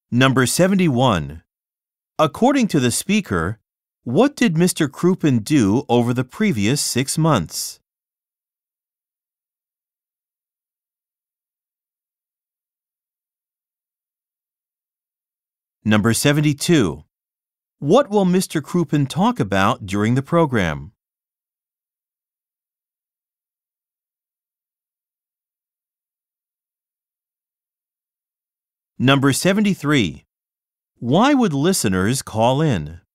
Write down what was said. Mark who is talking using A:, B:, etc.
A: Number 71. According to the speaker, what did Mr. Crouppen do over the previous 6 months? Number 72. What will Mr. Crouppen talk about during the program? Number 73. Why would listeners call in?